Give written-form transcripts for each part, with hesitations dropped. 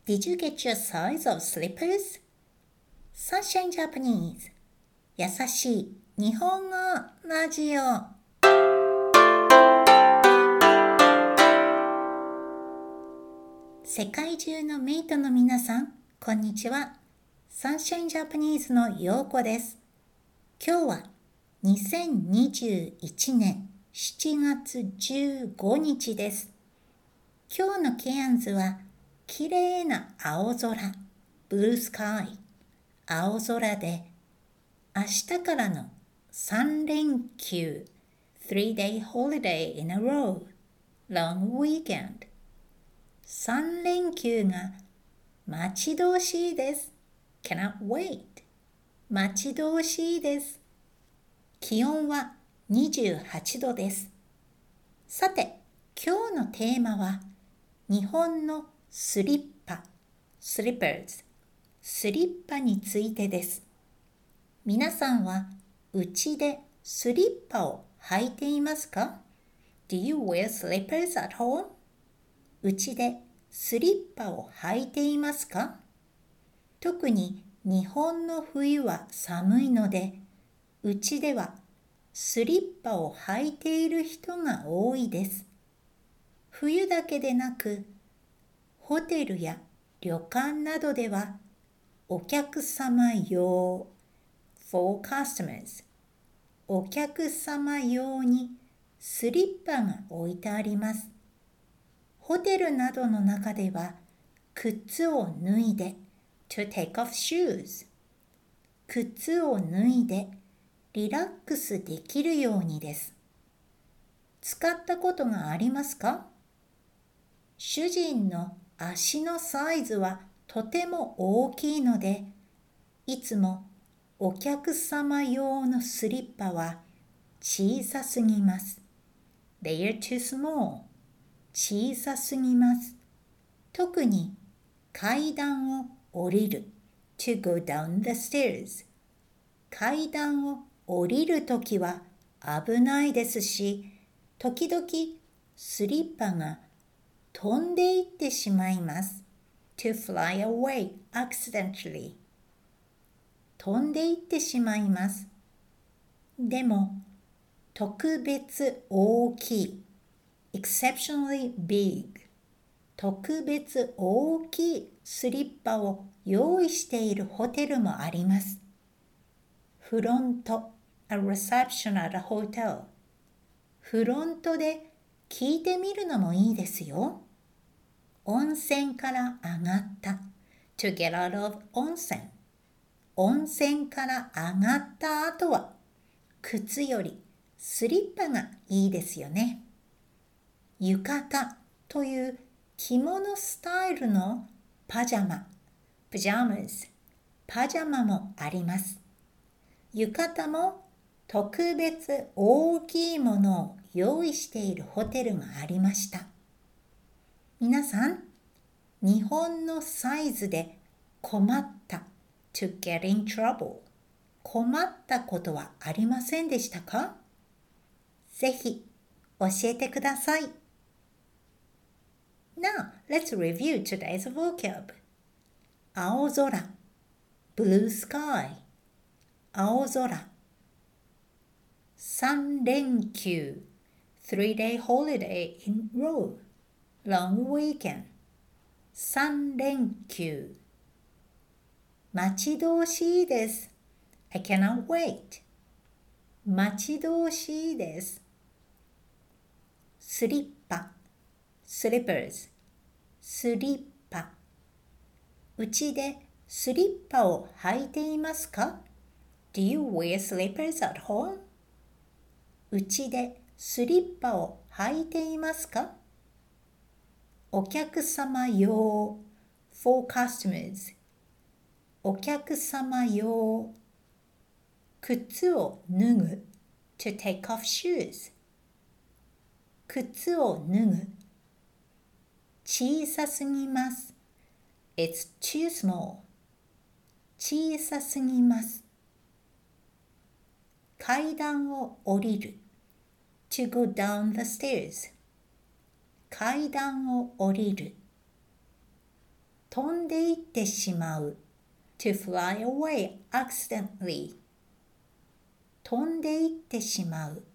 Did you get your size of slippers? Sunshine Japanese 優しい日本語ラジオ。世界中のメイトの皆さん、こんにちは。Sunshine Japanese のようこです。今日は2021年7月15日です。今日のケアンズは綺麗な青空、ブルースカイ、青空で明日からの3連休、3-day holiday in a row, long weekend。3連休が待ち遠しいです。Cannot wait。待ち遠しいです。気温は28度です。さて、今日のテーマは日本のスリッパ、slippers、スリッパについてです。皆さんは家でスリッパを履いていますか？ Do you wear slippers at home? 家でスリッパを履いていますか？特に日本の冬は寒いので、家ではスリッパを履いている人が多いです。冬だけでなく、ホテルや旅館などではお客様用 for customers お客様用にスリッパが置いてあります。ホテルなどの中では靴を脱いで to take off shoes 靴を脱いでリラックスできるようにです。使ったことがありますか？主人の足のサイズはとても大きいので、いつもお客様用のスリッパは小さすぎます。They are too small。小さすぎます。特に階段を降りる。To go down the stairs。階段を降りるときは危ないですし、時々スリッパが飛んでいってしまいます。To fly away accidentally。飛んでいってしまいます。でも、特別大きい。exceptionally big。特別大きいスリッパを用意しているホテルもあります。フロント、a reception at a hotel。フロントで聞いてみるのもいいですよ。温泉から上がった。To get out of 温泉。温泉から上がった後は、靴よりスリッパがいいですよね。浴衣という着物スタイルのパジャマ、pajamas、パジャマもあります。浴衣も特別大きいものを用意しているホテルがありました。皆さん、日本のサイズで困った to get in trouble 困ったことはありませんでしたか？ぜひ教えてください。Now, let's review today's vocab. 青空 blue sky 青空3連休 3-day holiday in row long weekend 3連休待ち遠しいです。I cannot wait 待ち遠しいです。スリッパ slippers スリッパうちでスリッパを履いていますか？ Do you wear slippers at home? うちでスリッパを履いていますか？お客様用 for customers お客様用靴を脱ぐ to take off shoes 靴を脱ぐ小さすぎます It's too small 小さすぎます階段を降りる to go down the stairs 階段を降りる飛んでいってしまう。to fly away accidentally。飛んでいってしまう。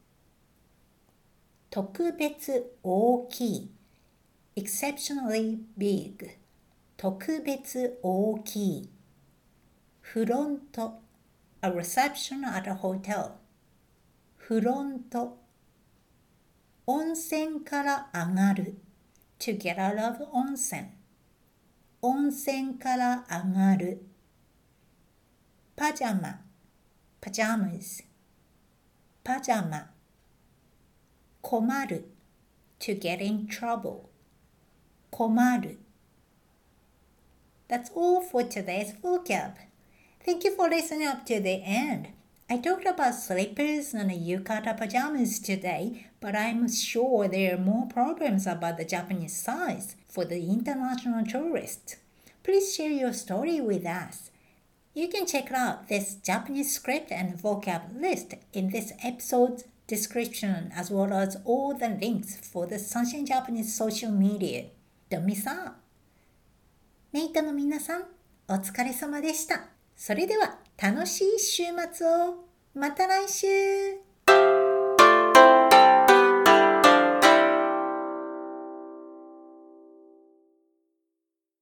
特別大きい。exceptionally big。特別大きい。フロント。a reception at a hotel。フロント。温泉から上がる。to get out of 温泉。温泉から上がる。パジャマ。pajamas。パジャマ。困る。to get in trouble。困る。That's all for today's vocab. Thank you for listening up to the end. I talked about slippers and yukata pajamas today, but I'm sure there are more problems about the Japanese size for the international tourist. Please share your story with us. You can check out this Japanese script and vocab list in this episode's description, as well as all the links for the Sunshine Japanese social media. Don't miss out. メイトの皆さん、お疲れ様でした。それでは楽しい週末を。また来週。